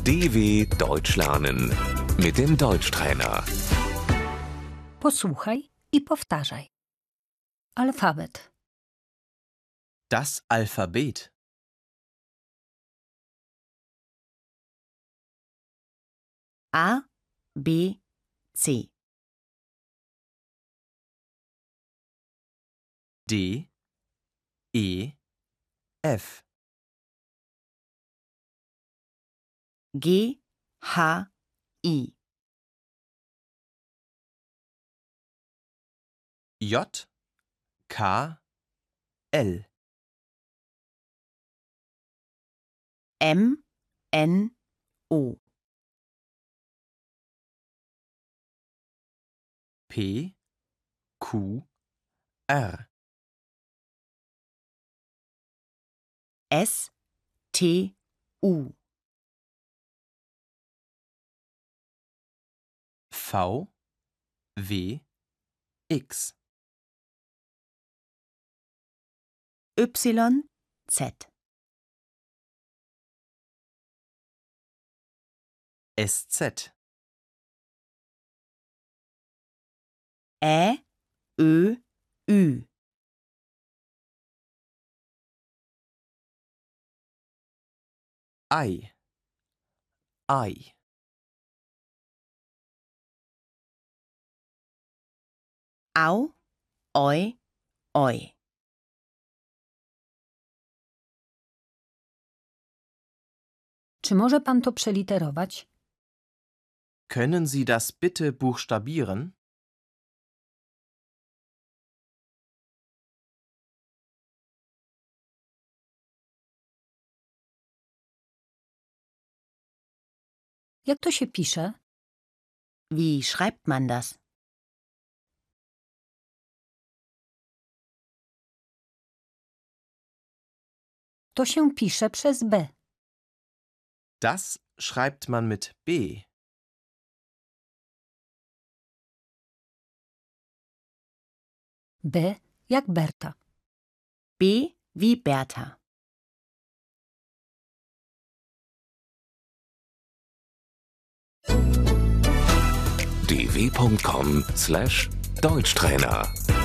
DW Deutsch lernen mit dem Deutschtrainer. Posłuchaj i powtarzaj. Alfabet. Das Alphabet. A, B, C. D, E, F. G, H, I. J, K, L. M, N, O. P, Q, R. S, T, U. V, W, X. Y, Z. SZ. Ä, Ö, Ü. I. I. Au, Oi, Oi. Czy może pan to przeliterować? Können Sie das bitte buchstabieren? Jak to się pisze? Wie schreibt man das? To się pisze przez B. Das schreibt man mit B. B jak Berta. B wie Bertha. dw.com/Deutschtrainer